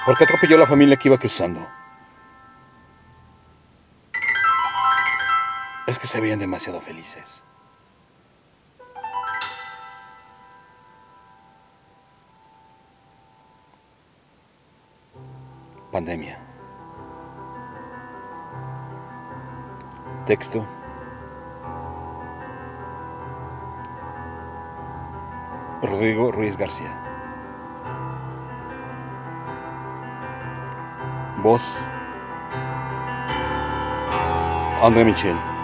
¿Por qué atropelló a la familia que iba cruzando? Es que se veían demasiado felices. Pandemia. Texto. Rodrigo Ruiz García. Voz. André Michel.